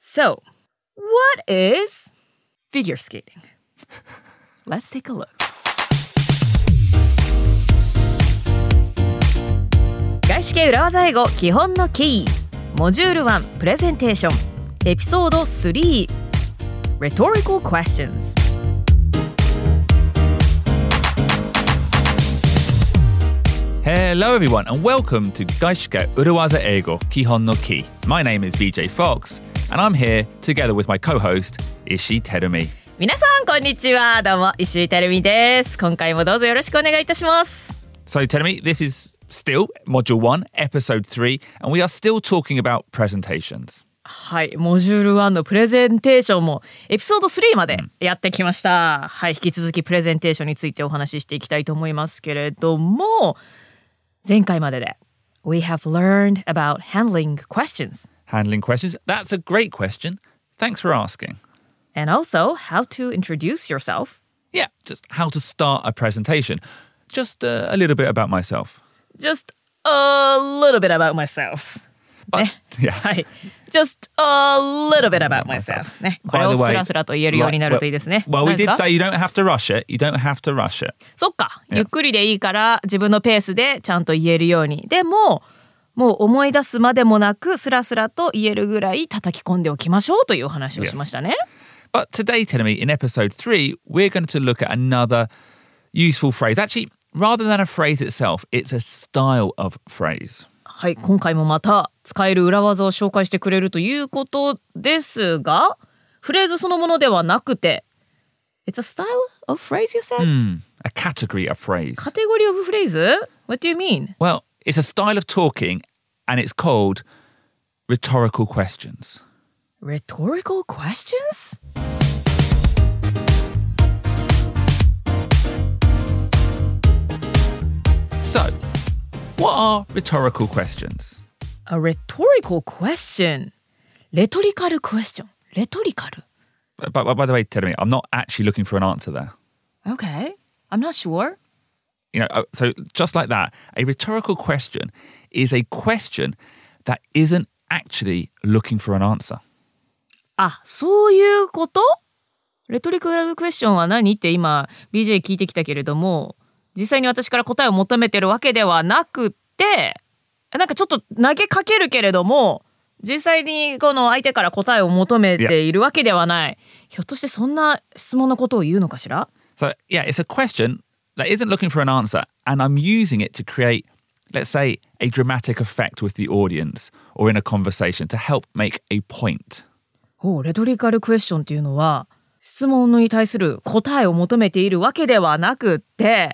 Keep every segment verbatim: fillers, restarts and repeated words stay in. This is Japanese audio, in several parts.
So, what is figure skating? Let's take a look. 外資系裏技英語基本のキーモジュールワンプレゼンテーションエピソードスリー Rhetorical Questions。 Hello everyone and welcome to 外資系裏技英語基本のキー。 My name is B J Fox and I'm here together with my co-host Ishii Terumi。 皆さんこんにちは、どうも石井てるみです。今回もどうぞよろしくお願いいたします。 So Terumi, this is still Module one, Episode three, and we are still talking about presentations. はい、モジュールワンのプレゼンテーションもエピソードスリーまでやってきました、うん、はい、引き続きプレゼンテーションについてお話ししていきたいと思いますけれども、前回までで We have learned about handling questions. Handling questions? That's a great question. Thanks for asking. And also how to introduce yourself. Yeah, just how to start a presentation. Just uh, a little bit about myself.Just a little bit about myself. But, ね、 yeah. はい。Just a little bit about myself. ね、これをスラスラと言えるようになるといいですね。 Well, we did say you don't have to rush it. You don't have to rush it. そっか。ゆっくりでいいから自分のペースでちゃんと言えるように。でも、もう思い出すまでもなくスラスラと言えるぐらい叩き込んでおきましょうというお話をしましたね。 Yes. But today, Terumi, in episode three, we're going to look at another useful phrase. Actually,Rather than a phrase itself, it's a style of phrase. はい、今回もまた使える裏技を紹介してくれるということですが、フレーズそのものではなくて、It's a style of phrase, you said? Mm, a category of phrase. カテゴリー of phrase? What do you mean? Well, it's a style of talking and it's called rhetorical questions. Rhetorical questions?So, what are rhetorical questions? A rhetorical question. Rhetorical question. Rhetorical. But, but by the way, Terumi, I'm not actually looking for an answer there. Okay. I'm not sure. You know, so just like that, a rhetorical question is a question that isn't actually looking for an answer. あ、そういうこと？レトリカルクエスチョンは何って今 ビージェー 聞いてきたけれども、実際に私から答えを求めてるわけではなくて、なんかちょっと投げかけるけれども、実際にこの相手から答えを求めているわけではない。ひょっとしてそんな質問のことを言うのかしら？ So, yeah, it's a question that isn't looking for an answer, and I'm using it to create, let's say, a dramatic effect with the audience or in a conversation to help make a point. おう、レトリカルクエスチョンっていうのは、質問に対する答えを求めているわけではなくって、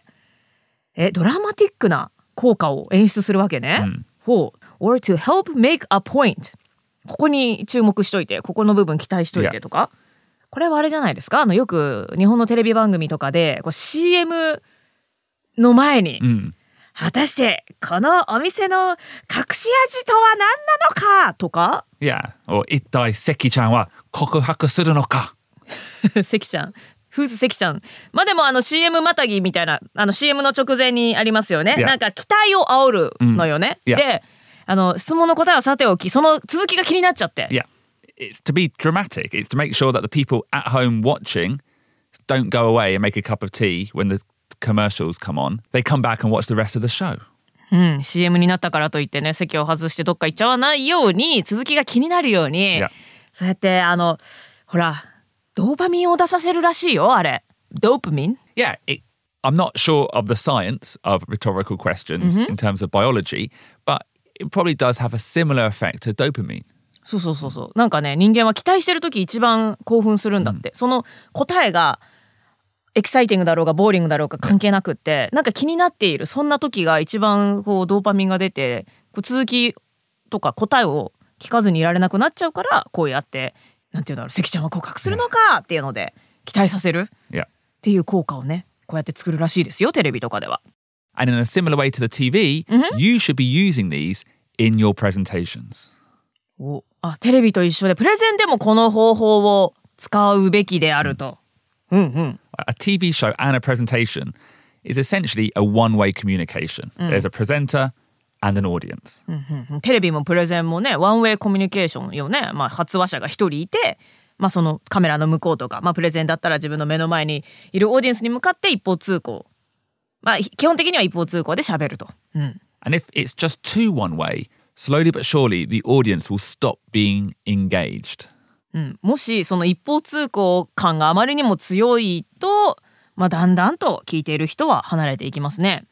え、ドラマティックな効果を演出するわけね。うん、ほう。or to help make a point。ここに注目しといて、ここの部分期待しといてとか。Yeah. これはあれじゃないですか？あの、よく日本のテレビ番組とかで、こう シーエム の前に、うん、果たしてこのお店の隠し味とは何なのかとか。 Yeah. or 一体関ちゃんは告白するのか。 関ちゃん。フーズ関ちゃん。まあでもあの シーエム またぎみたいな、あの シーエム の直前にありますよね。Yeah. なんか期待を煽るのよね。Mm. Yeah. で、あの質問の答えはさておき、その続きが気になっちゃって。 Yeah. It's to be dramatic. It's to make sure that the people at home watching don't go away and make a cup of tea when the commercials come on. They come back and watch the rest of the show. うん、シーエム になったからといってね、席を外してどっか行っちゃわないように、続きが気になるように、yeah. そうやってあのほら。ドーパミンを出させるらしいよ、あれ。ドーパミン Yeah, it, I'm not sure of the science of rhetorical questions、mm-hmm. in terms of biology, but it probably does have a similar effect to dopamine. そうそうそうそう。なんかね、人間は期待してるとき一番興奮するんだって。うん、その答えがエキサイティングだろうがボーリングだろうが関係なくって、なんか気になっている、そんな時が一番こうドーパミンが出て、こう続きとか答えを聞かずにいられなくなっちゃうから、こうやって、なんていうんだろう、関ちゃんは告白するのかっていうので期待させるっていう効果をね、こうやって作るらしいですよ、テレビとかでは。 And in a similar way to the ティーブイ、mm-hmm. you should be using these in your presentations. お、あ、テレビと一緒でプレゼンでもこの方法を使うべきであると。うんうん。 A ティーブイ show and a presentation is essentially a one-way communication. Mm. There's a presenter and an audience. うんうん、テレビもプレゼンもね、ワンウェイコミュニケーションよね。まあ、発話者が一人いて、まあ、そのカメラの向こうとか、まあ、プレゼンだったら自分の目の前にいるオーディエンスに向かって一方通行。まあ、基本的には一方通行で喋ると。うん。 And if it's just too one way, slowly but surely the audience will stop being engaged. うん、もしその一方通行感があまりにも強いと、まあ、だんだんと聞いている人は離れていきますね。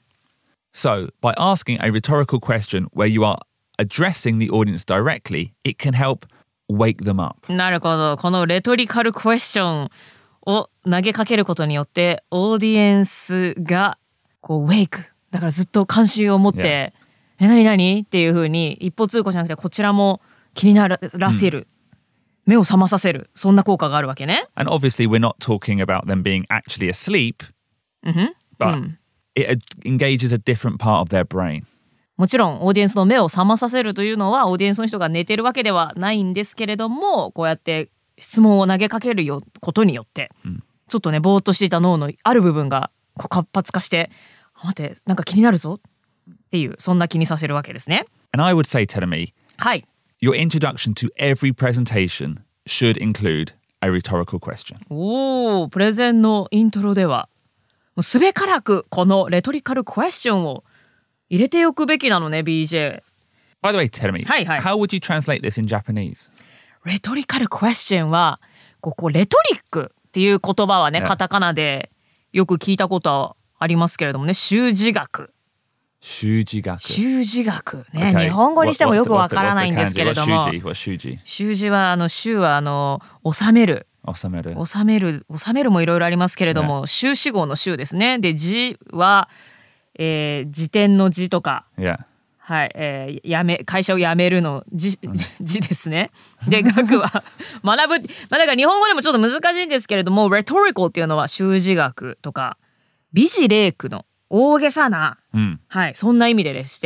So, by asking a rhetorical question where you are addressing the audience directly, it can help wake them up. なるほど。このレトリカルクエスチョンを投げかけることによって、オーディエンスがこうウェイク。だからずっと関心を持って、yeah. え、何何っていう風に一方通行じゃなくてこちらも気にならせる。うん、目を覚まさせる。そんな効果があるわけね。 And obviously we're not talking about them being actually asleep, mm-hmm. but、うん、it engages a different part of their brain. もちろんオーディエンスの目を覚まさせるというのはオーディエンスの人が寝てるわけではないんですけれども、こうやって質問を投げかけるよことによって、うん、ちょっとねぼーっとしていた脳のある部分がこう活発化して、待ってなんか気になるぞっていう、そんな気にさせるわけですね。 And I would say, Terumi, はい。 Your introduction to every presentation should include a rhetorical question. おー、プレゼンのイントロではもうすべからくこのレトリカルクエスチョンを入れておくべきなのね、ビージェー。 By the way, Terumi, はいはい。 how would you translate this in Japanese? レトリカルクエスチョンは、ここレトリックっていう言葉はね、yeah. カタカナでよく聞いたことはありますけれどもね、習字学。 習字学。 習字学ね、okay. 日本語にしてもよくわからないんですけれども。習字。習字はあの習はあの収める。 収める。 収める。収めるもいろいろありますけれども、習字号の習ですね。で字は、えー、辞典の字とか。 Yeah. はい、えー、やめ会社を辞めるの字、字ですね。で学は学ぶ、まあだから日本語でもちょっと難しいんですけれども、rhetorical っていうのは習字学とか美辞麗句の大げさな、うん、はい、そんな意味ででして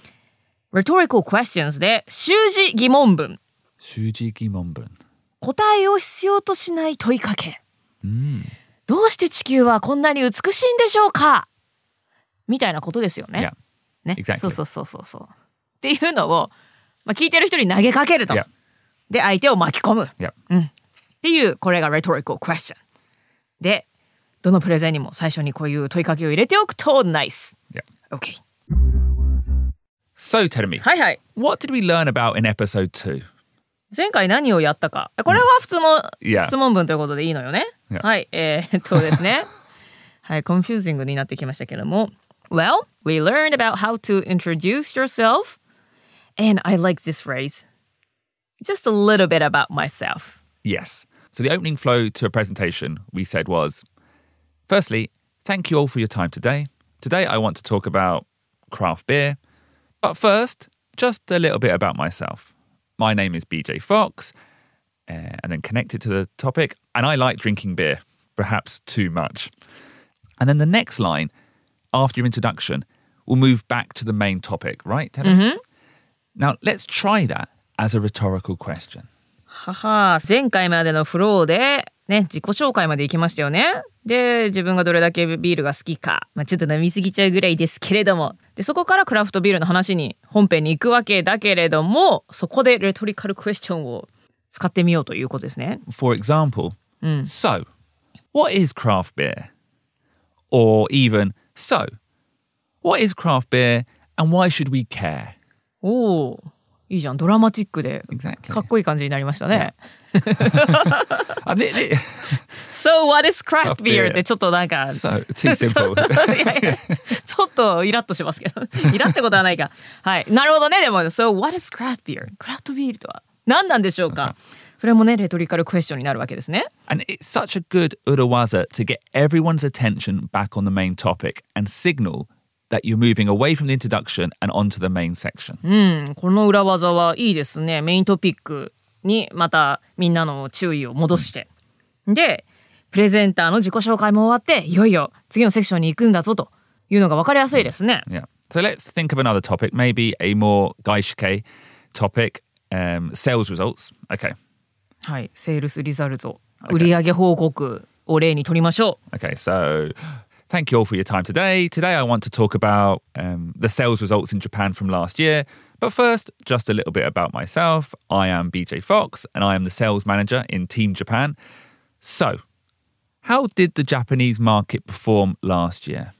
、rhetorical questions で習字疑問文。 習字疑問文。 答えを必要としない問いかけ。 うん、 どうして地球はこんなに美しいんでしょうかみたいなことですよね。 Yeah. ね、 exactly. そうそうそうそうそう。っていうのを、まあ、聞いてる人に投げかけると。 Yeah. で、相手を巻き込む。 Yeah. うん。っていう、これが rhetorical question。で、どのプレゼンにも最初にこういう問いかけを入れておくと nice. Yeah. Okay. So, Terumi. はいはい。 What did we learn about in episode two? 前回何をやったか。これは普通の質問文ということでいいのよね。 Yeah. はい。えー、っとですね。はい、コンフュージングになってきましたけども。Well, we learned about how to introduce yourself. And I like this phrase. Just a little bit about myself. Yes. So the opening flow to a presentation we said was, firstly, thank you all for your time today. Today I want to talk about craft beer. But first, just a little bit about myself. My name is B J Fox. Uh, and then connect it to the topic. And I like drinking beer. Perhaps too much. And then the next line...After your introduction, we'll move back to the main topic, right, Terumi? Mm-hmm. Now, let's try that as a rhetorical question. はは、前回までのフローで、ね、自己紹介まで行きましたよね。で、自分がどれだけビールが好きか、まあ、ちょっと飲みすぎちゃうぐらいですけれども。で、そこからクラフトビールの話に、本編に行くわけだけれども、そこでレトリカルクエスチョンを使ってみようということですね。 For example, うん、 so, what is craft beer? Or even...So, what is craft beer and why should we care? おー、いいじゃん。ドラマチックで、かっこいい感じになりましたね。So, what is craft beer? ってちょっとなんか、 so, too simple. いやいやちょっとイラッとしますけど、イラってことはないか。はい。なるほどね。でも、So, what is craft beer? クラフトビールとは何なんでしょうか、okay.それもね、レトリカルクエスチョンになるわけですね。 And it's such a good urawaza to get everyone's attention back on the main topic and signal that you're moving away from the introduction and onto the main section. うん、この裏技はいいですね。メイントピックにまたみんなの注意を戻して。で、プレゼンターの自己紹介も終わって、いよいよ次のセクションに行くんだぞというのが分かりやすいですね。 Yeah. So let's think of another topic, maybe a more gaishike topic, um, sales results. Okay. はい、セールスリザルト、売上報告を例に取りましょう。 Okay, so Thank you all for your time today. Today I want to talk about um, the sales results in Japan from last year. But first, just a little bit about myself. I am B J Fox and I am the sales manager in Team Japan. So, how did the Japanese market perform last year?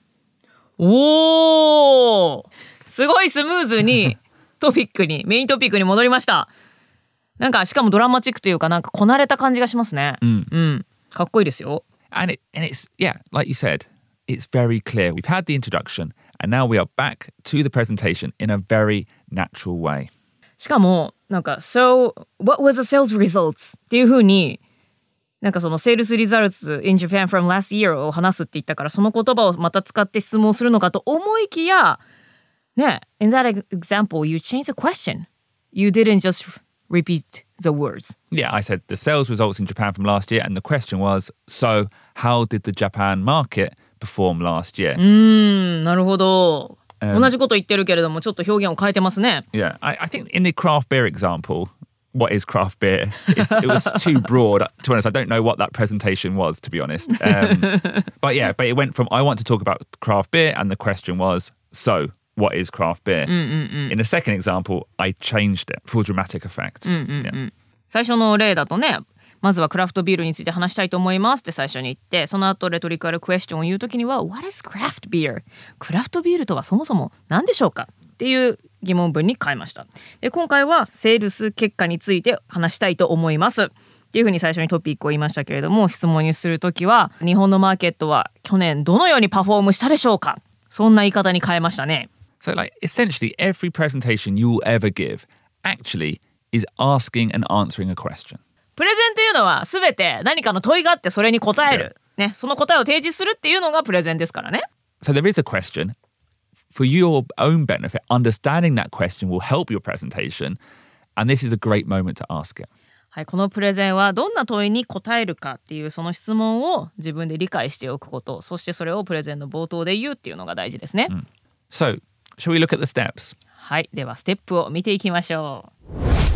おーすごいスムーズにトピックにメイントピックに戻りました。なんかしかもドラマチックというかなんかこなれた感じがしますね。うん、うん、かっこいいですよ。 And, it, and it's, yeah, like you said, it's very clear. We've had the introduction and now we are back to the presentation in a very natural way. しかもなんか So, what was the sales results? っていう風になんかその Sales results in Japan from last year を話すって言ったからその言葉をまた使って質問するのかと思いきやね、in that example you changed the question. You didn't just repeat the words. Yeah, I said the sales results in Japan from last year and the question was, so how did the Japan market perform last year? うーん、なるほど。Um, 同じこと言ってるけれどもちょっと表現を変えてますね。 Yeah, I, I think in the craft beer example, what is craft beer? It's, it was too broad. To be honest, I don't know what that presentation was, to be honest. Um, but yeah, but it went from, I want to talk about craft beer and the question was, so what is craft beer? うんうんうん、 In the second example, I changed it for dramatic effect. うんうんうん、yeah. 最初の例だとね、まずはクラフトビールについて話したいと思いますって最初に言って、その後レトリカルクエスチョンを言うときには What is craft beer? クラフトビールとはそもそも何でしょうかっていう疑問文に変えました。で、今回はセールス結果について話したいと思いますっていうふうに最初にトピックを言いましたけれども、質問にするときは日本のマーケットは去年どのようにパフォームしたでしょうか、そんな言い方に変えましたね。 So like essentially every presentation you will ever give actually is asking and answering a question. プレゼンっていうのは全て何かの問いがあってそれに答える、ね、その答えを提示するっていうのがプレゼンですからね。 So there is a question. For your own benefit, understanding that question will help your presentation, and this is a great moment to ask it. はい、このプレゼンはどんな問いに答えるかっていうその質問を自分で理解しておくこと、そしてそれをプレゼンの冒頭で言うっていうのが大事ですね。うん、 So, shall we look at the steps? はい、ではステップを見ていきましょう。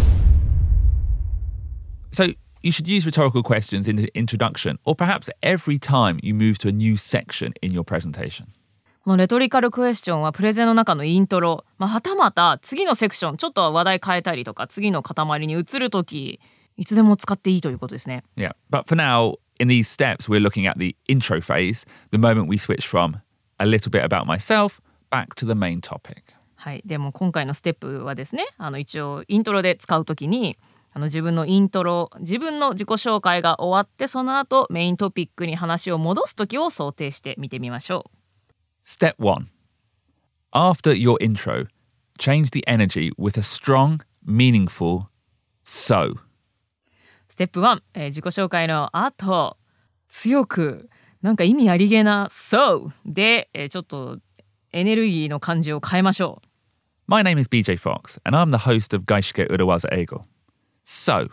So, you should use rhetorical questions in the introduction, or perhaps every time you move to a new section in your presentation. このレトリカルクエスチョンはプレゼンの中のイントロ、まあ、はたまた次のセクションちょっと話題変えたりとか次の塊に移るときいつでも使っていいということですね。 Yeah, but for now, in these steps, we're looking at the intro phase, the moment we switch from a little bit about myself back to the main topic. はい、でも今回のステップはですね、あの一応イントロで使うときにあの自分のイントロ、自分の自己紹介が終わってその後メイントピックに話を戻すときを想定して見てみましょう。 Step one. After your intro, change the energy with a strong, meaningful so. ステップワン、えー、自己紹介の後、強く、なんか意味ありげな so で、えー、ちょっとエネルギーの感じを変えましょう。 My name is B J Fox, and I'm the host of Gaishike Urawaza Eigo. So.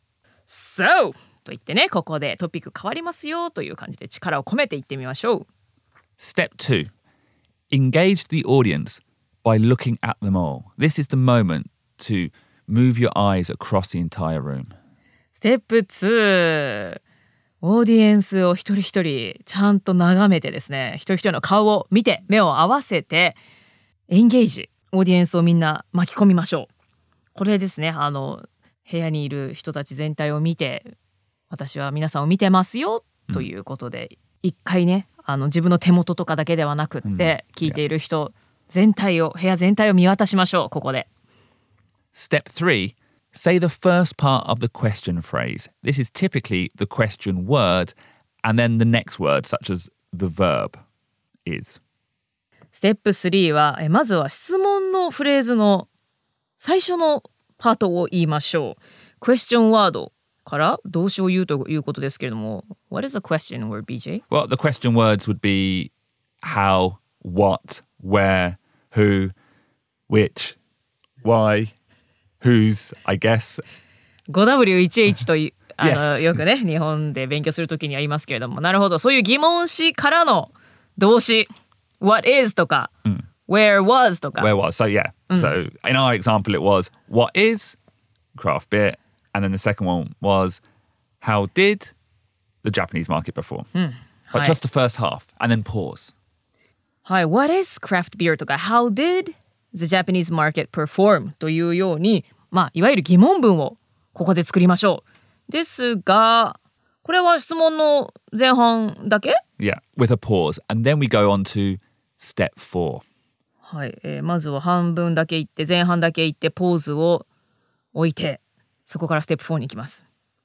So! と言ってね、ここでトピック変わりますよという感じで力を込めていってみましょう。 Step two.Engage the audience by looking at them all. This is the moment to move your eyes across the entire room. ステップツー、オーディエンスを一人一人ちゃんと眺めてですね、一人一人の顔を見て目を合わせてエンゲージ、オーディエンスをみんな巻き込みましょう。これですね、あの部屋にいる人たち全体を見て、私は皆さんを見てますよということで、うん、一回ね、あの自分の手元とかだけではなくって、うん、聞いている人全体を、部屋全体を見渡しましょう、ここで。 Step three, say the first part of the question phrase. This is typically the question word and then the next word, such as the verb is. ステップスリーは、えまずは質問のフレーズの最初のパートを言いましょう。クエスチョンワードから動詞を言うということですけれども、What is the question word, B J? Well, the question words would be how, what, where, who, which, why, whose, I guess. ファイブダブリューワンエイチ というあの、 yes. よくね、日本で勉強するときには言いますけれども、なるほど、そういう疑問詞からの動詞、What is とか、mm. Where was とか。 Where was, so yeah. Mm. So in our example it was, what is craft beer? And then the second one was, how did the Japanese market perform? うん、 But はい just the first half, and then pause. はい、What is craft beer とか How did the Japanese market perform というように、まあ、いわゆる疑問文をここで作りましょう。ですが、これは質問の前半だけ？ Yeah, with a pause. And then we go on to step four. はい、えー、まずは半分だけ言って前半だけ言ってポーズを置いてそこからステップフォーに行きます。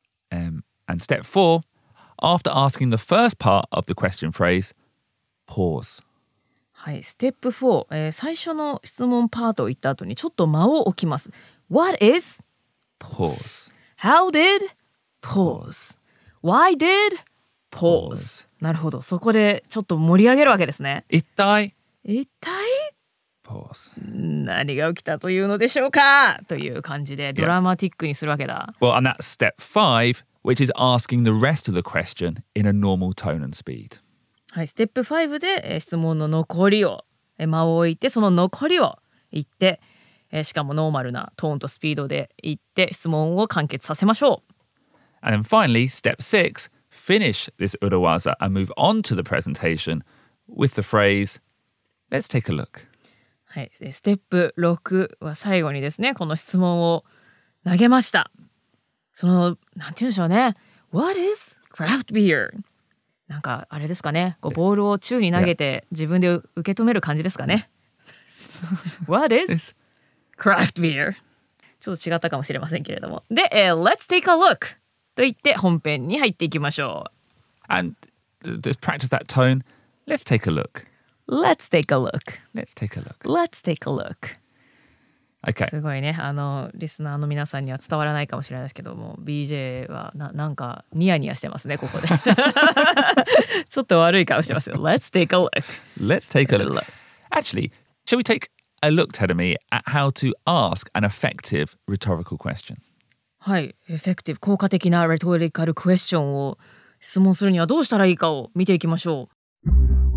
Um, and step four, after asking the first part of the question phrase, pause. はい、ステップフォー、えー、最初の質問パートを言った後にちょっと間を置きます。What is Pause. How did pause? Why did pause? なるほど、そこでちょっと盛り上げるわけですね。 一体一体 Pause. 何が起きたというのでしょうかという感じでドラマティックにするわけだ。 Well, and that's step five, which is asking the rest of the question in a normal tone and speed. はい、ステップファイブで、えー、質問の残りを、えー、間を置いてその残りを言って、えー、しかもノーマルなトーンとスピードで言って質問を完結させましょう。 And then finally, step six, finish this urawaza and move on to the presentation with the phrase, let's take a look. はい、ステップろくは最後にですね、この質問を投げました。その、なんて言うんでしょうね。What is craft beer? なんか、あれですかね。こうボールを宙に投げて自分で受け止める感じですかね。What is craft beer? ちょっと違ったかもしれませんけれども。で、えー、Let's take a look! と言って本編に入っていきましょう。 And just practice that tone. Let's take a look.Let's take a look. Let's take a look. Let's take a look. Okay. すごいね、あのリスナーの皆さんには伝わらないかもしれないですけども、ビージェー はななんかニヤニヤしてますねここで。ちょっと悪い顔してますよ。Let's take a look. Let's take a look. Actually, shall we take a look, Tedemi, at how to ask an effective rhetorical question? はい、エフェクティブ効果的なレトリカルクエスチョンを質問するにはどうしたらいいかを見ていきましょう。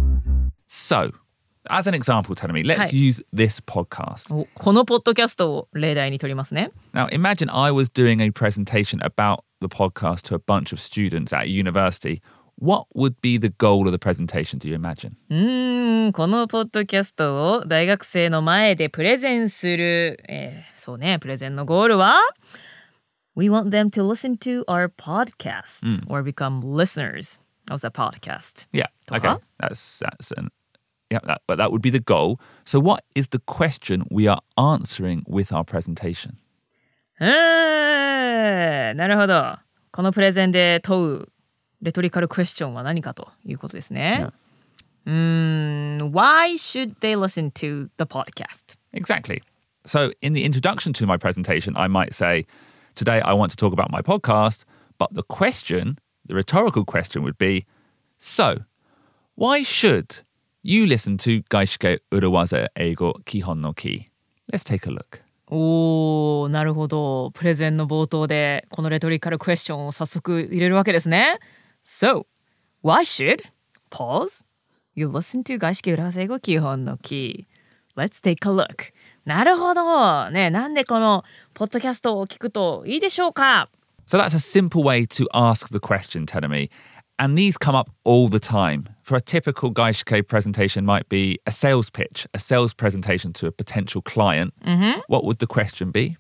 So, as an example, Tedemi, let's use this podcast. このポッドキャストを例題に取りますね。 Now, imagine I was doing a presentation about the podcast to a bunch of students at a university. What would be the goal of the presentation, do you imagine? うーん、このポッドキャストを大学生の前でプレゼンする、えー、そうね、プレゼンのゴールはWe want them to listen to our podcast、mm. or become listeners of the podcast. Yeah, okay. That's, that's an, yeah, that, but that would be the goal. So what is the question we are answering with our presentation? うーん、なるほど。このプレゼンで問うレトリカルクエスチョンは何かということですね。Yeah. うーん、Why should they listen to the podcast? Exactly. So in the introduction to my presentation, I might say,Today, I want to talk about my podcast, but the question, the rhetorical question would be, so, why should you listen to Gaishike Urawaza Eigo Kihon no Ki? Let's take a look. おー、なるほど。プレゼンの冒頭でこのレトリカルクエスチョンを早速入れるわけですね。So, why should, pause, you listen to Gaishike Urawaza Eigo Kihon no Ki? Let's take a look.なるほど。ね、なんでこのポッドキャストを聞くといいでしょうか? So that's a simple way to ask the question, Tedemi. And these come up all the time. For a typical Gaishike presentation might be a sales pitch, a sales presentation to a potential client. Mm-hmm. What would the question be?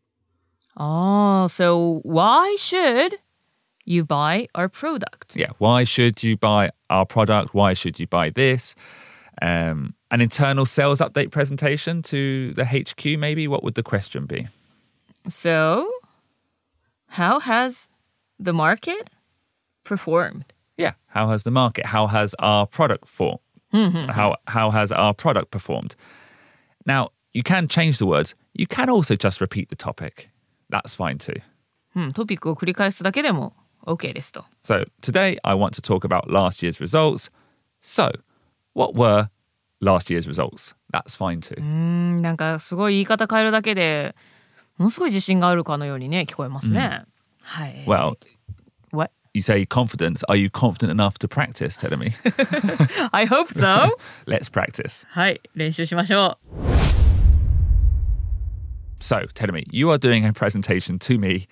Oh, so why should you buy our product? Yeah, why should you buy our product? Why should you buy this?Um, an internal sales update presentation to the H Q, maybe? What would the question be? So, how has the market performed? Yeah, how has the market, how has our product for, mm-hmm. how, how has our product performed? Now, you can change the words. You can also just repeat the topic. That's fine too. うん、トピックを繰り返すだけでも OK ですと。 So, today I want to talk about last year's results. So,What were last year's results? That's fine too. うーん、なんかすごい言い方変えるだけでものすごい自信があるかのようにね聞こえますね。 Mm. はい。 Well, what? You say confidence. Are you confident enough to practice, Tedemi? I hope so. Let's practice. はい、練習しましょう。 So, Tedemi, you are doing a presentation to me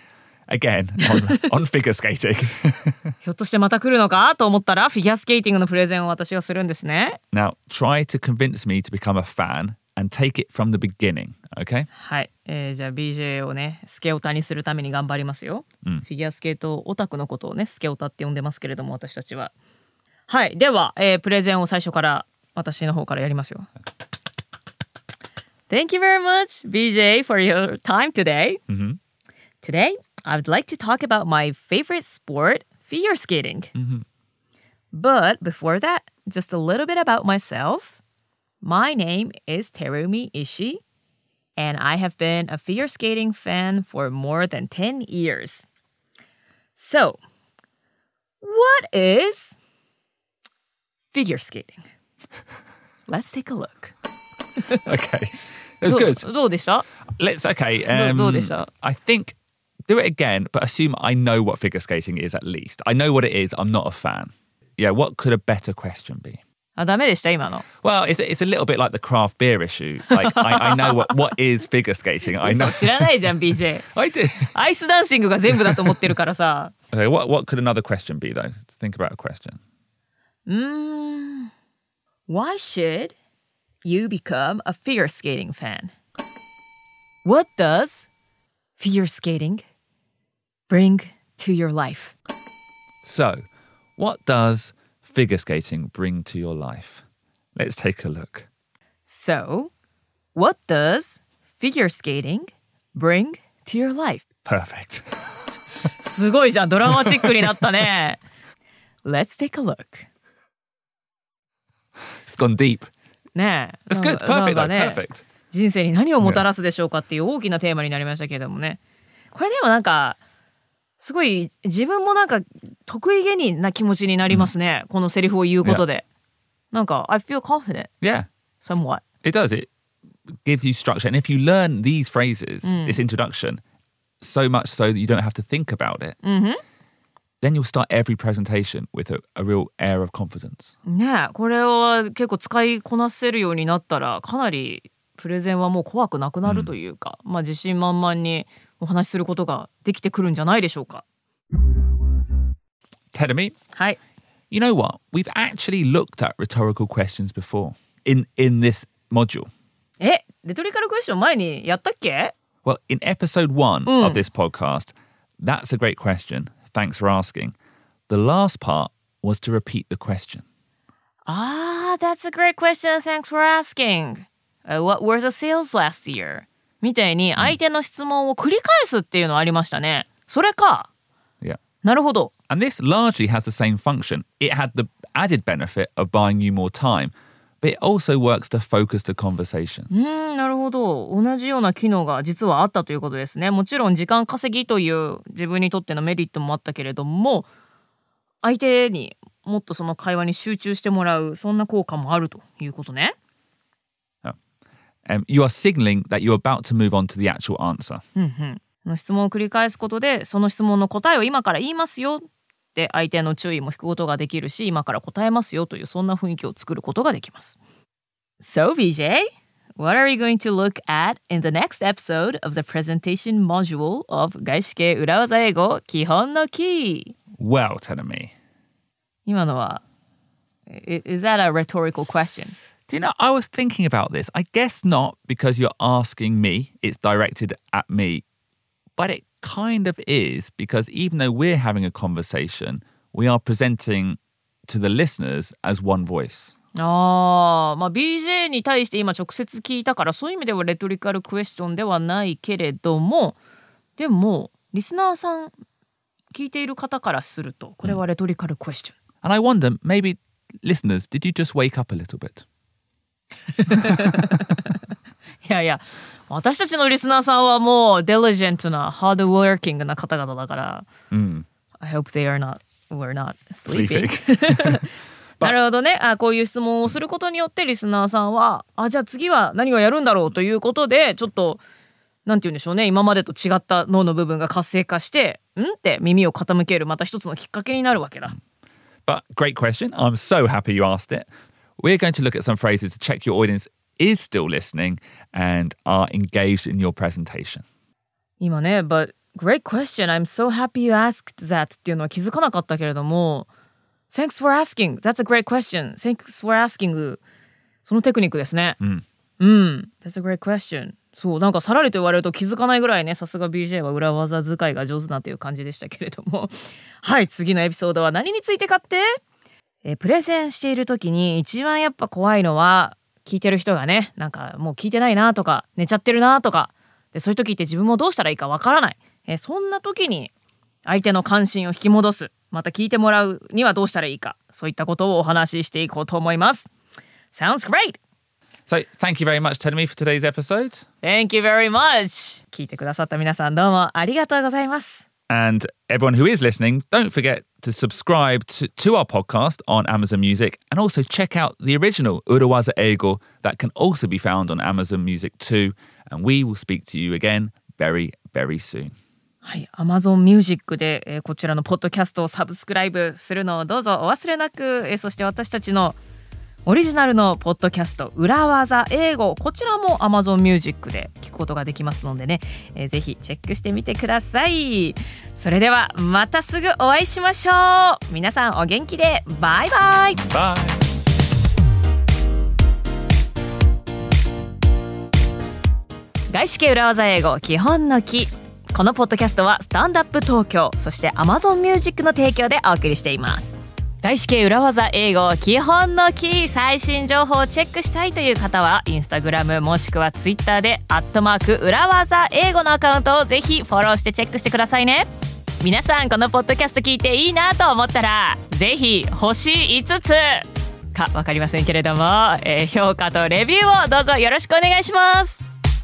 again on, on figure skating. ひょっとしてまた来るのかと思ったらフィギュアスケーティングのプレゼンを私がするんですね。 Now, try to convince me to become a fan and take it from the beginning, okay? はい、えー、じゃあ ビージェー をねスケオタにするために頑張りますよ、うん、フィギュアスケートオタクのことをねスケオタって呼んでますけれども私たちは。はい、では、えー、プレゼンを最初から私の方からやりますよ。Thank you very much, ビージェー, for your time today. Mm-hmm. Today, I would like to talk about my favorite sport, figure skating. Mm-hmm. But before that, just a little bit about myself. My name is Terumi Ishii, and I have been a figure skating fan for more than ten years. So, what is figure skating? Let's take a look. Okay. It was good. どうでした? Let's, okay. Um, どうでした? I think, do it again, but assume I know what figure skating is at least. I know what it is. I'm not a fan. Yeah, what could a better question be? あ、ダメでした今の。 Well, it's, it's a little bit like the craft beer issue. Like, I, I know what, what is figure skating. I know. 知らないじゃん、ビージェー. I do. アイスダンシングが全部だと思ってるからさ。 Okay, what, what could another question be, though? Think about a question. Mm, why should you become a figure skating fan? What does figure skating bring to your life? So, what does figure skating bring to your life? Let's take a look. So, what does figure skating bring to your life? Perfect. すごいじゃん、ドラマチックになったね。Let's take a look. It's gone deep. ねえ。 That's good. Perfect, though. Perfect. 人生に何をもたらすでしょうかっていう大きなテーマになりましたけれどもね。これでもなんかすごい自分もなんか得意げにな気持ちになりますね、うん、このセリフを言うことで、yeah. なんか I feel confident yeah somewhat. It does. It gives you structure, and if you learn these phrases、うん、this introduction so much so that you don't have to think about it、 mm-hmm. then you'll start every presentation with a, a real air of confidence. ねえ、これは結構使いこなせるようになったらかなりプレゼンはもう怖くなくなるというか、うん、まあ自信満々にお話しすることができてくるんじゃないでしょうか。 Terumi, はい。 You know what? We've actually looked at rhetorical questions before in, in this module. え、レトリカルクエスチョン前にやったっけ? Well, in episode one、うん、of this podcast, that's a great question. Thanks for asking. The last part was to repeat the question. Ah, that's a great question. Thanks for asking.Uh, what were the sales last year? みたいに相手の質問を繰り返すっていうのありましたね。それか。 Yeah. なるほど。 And this largely has the same function. It had the added benefit of buying you more time, but it also works to focus the conversation. うーん、なるほど。同じような機能が実はあったということですね。もちろん時間稼ぎという自分にとってのメリットもあったけれども、相手にもっとその会話に集中してもらう、そんな効果もあるということね。 Um, you are signaling that you're about to move on to the actual answer. うんうん。質問を繰り返すことで、その質問の答えを今から言いますよって相手の注意も引くことができるし、今から答えますよというそんな雰囲気を作ることができます。So, ビージェー, what are you going to look at in the next episode of the presentation module of 外資系裏技英語基本のキー? Well, Terumi. 今のは Is that a rhetorical question?Do you know, I was thinking about this. I guess not because you're asking me. It's directed at me. But it kind of is because even though we're having a conversation, we are presenting to the listeners as one voice. ああ、まあ ビージェー に対して今直接聞いたからそういう意味ではレトリカルクエスチョンではないけれども、でもリスナーさん聞いている方からするとこれはレトリカルクエスチョン。 And I wonder, maybe listeners, did you just wake up a little bit? いやいや、私たちのリスナーさんはもう diligent な hard working な方々だから、 うん、 I hope they are not, we're not sleeping. なるほどね。あ、こういう質問をすることによってリスナーさんは、あ、じゃあ次は何をやるんだろうということで、ちょっとなんて言うんでしょうね、今までと違った脳の部分が活性化して、んって耳を傾けるまた一つのきっかけになるわけだ。 But great question. I'm so happy you asked it.We're going to look at some phrases to check your audience is still listening and are engaged in your presentation. 今ね、but Great question. I'm so happy you asked that っていうのは気づかなかったけれども Thanks for asking. That's a great question. Thanks for asking. そのテクニックですね。うん。うん。That's a great question. そう、なんかさらりと言われると気づかないぐらいね、さすが ビージェー は裏技使いが上手なという感じでしたけれども。はい、次のエピソードは何についてかって、えー、プレゼンしている時に一番やっぱ怖いのは、聞いてる人がね、なんかもう聞いてないなとか、寝ちゃってるなとか、でそういう時って自分もどうしたらいいかわからない。えー、そんな時に相手の関心を引き戻す。また聞いてもらうにはどうしたらいいか。そういったことをお話ししていこうと思います。Sounds great! So, thank you very much, Tenemy, for today's episode. Thank you very much! 聞いてくださった皆さんどうもありがとうございます。 And everyone who is listening, don't forget to subscribe to, to our podcast on Amazon Music and also check out the original Urawaza Eigo that can also be found on Amazon Music too. And we will speak to you again very, very soon. はい、Amazon Music で、えー、こちらのポッドキャストをサブスクライブするのをどうぞお忘れなく、えー、そして私たちのオリジナルのポッドキャスト裏技英語、こちらも Amazon Music で聞くことができますのでね、えー、ぜひチェックしてみてください。それではまたすぐお会いしましょう。皆さんお元気で。バイバイ。 バイ。 外資系裏技英語基本のキ。このポッドキャストはスタンダップ東京、そして Amazon Music の提供でお送りしています。外資系裏技英語基本のキー、最新情報をチェックしたいという方はインスタグラムもしくはツイッターでアットマーク裏技英語のアカウントをぜひフォローしてチェックしてくださいね。皆さんこのポッドキャスト聞いていいなと思ったらぜひ星いつつか分かりませんけれども、えー、評価とレビューをどうぞよろしくお願いします。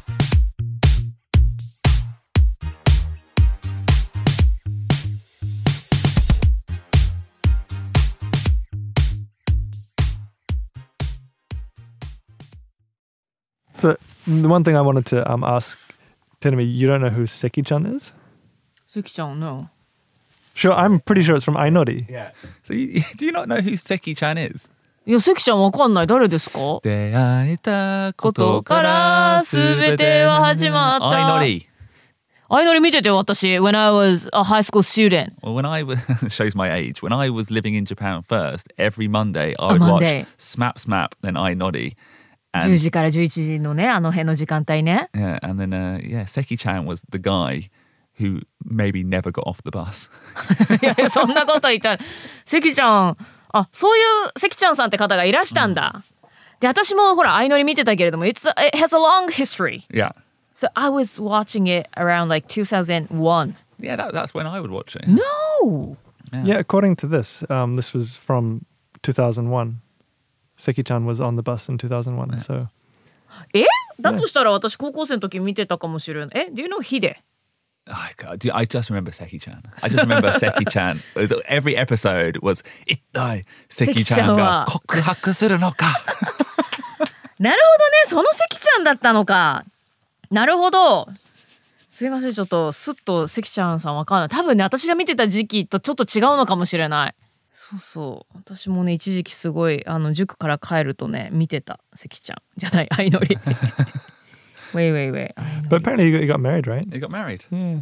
So the one thing I wanted to um, ask, Tenemy, you don't know who Seki-chan is? Seki-chan, no. Sure, I'm pretty sure it's from Ainori. Yeah. So you, do you not know who Seki-chan is? いや、関ちゃんわかんない。誰ですか？ 出会えたここととかかららすすべべててはは始始まった。 まった。 相乗り。 相乗り見てて私、when I was a high school student. Well, when I was, shows my age, when I was living in Japan first, every Monday I would Monday. watch Smap Smap, then Ainori. じゅうじからじゅういちじのね、あの辺の時間帯ね。 Yeah, and then, uh, yeah, Seki-chan was the guy who maybe never got off the bus. いやいや、そんなこと言ったら、関ちゃん、あ、そういう関ちゃんさんって方がいらしたんだ。で、私もほら、相乗り見てたけれども、It's, it has a long history. Yeah. So I was watching it around like two thousand one. Yeah, that, that's when I would watch it. No! Yeah, yeah according to this, um, this was from two thousand one. Seki-chan was on the bus in two thousand one, so... え？だとしたら私高校生の時見てたかもしれない。え？ Do you know Hide? Oh, God, dude, I just remember Seki-chan. I just remember Seki-chan. It was, every episode was, 一体 Seki-chan が告白するのか。 なるほどね、その関ちゃんだったのか。なるほど。すいません、ちょっとスッと関ちゃんさんわかんない。多分ね、私が見てた時期とちょっと違うのかもしれない。そうそう。私もね、一時期すごいあの塾から帰るとね、見てた関ちゃんじゃない、相乗り。wait, wait, wait. But apparently he got, he got married, right? He got married. Yeah.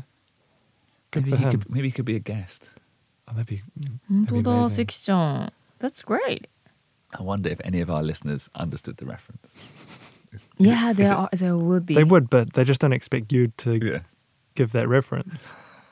Good Maybe for he him. could, maybe he could be a guest. Oh, that'd be, 本 that'd 当 be だ、 amazing. 関ちゃん。That's great. I wonder if any of our listeners understood the reference. Is, Yeah, is there it- are, there would be. They would, but they just don't expect you to Yeah. give that reference.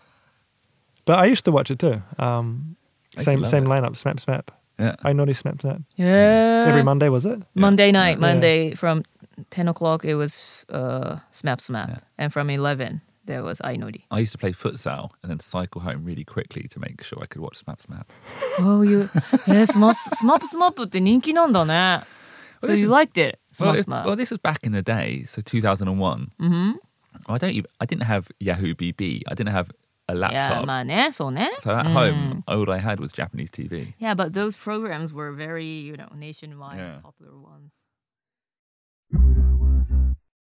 But I used to watch it too. Um, I same love same it. lineup, Smap Smap. Yeah. Ainori Smap Snap. Yeah. Every Monday, was it? Monday night, Yeah. Monday from ten o'clock it was uh, Smap Smap. Yeah. And from eleven there was Ainori. I used to play futsal and then cycle home really quickly to make sure I could watch Smap Smap. Oh, you... えー、スマスマップスマップって人気なんだね。So Well, this you is- liked it? Well, Smap it- Smap. well, this was back in the day, so two thousand one. Mm-hmm. I don't even, I didn't have Yahoo B B. I didn't have a いや、 laptop. まあね、そうね。 So at うん home, all I had was Japanese T V. Yeah, but those programs were very, you know, nationwide Yeah. popular ones.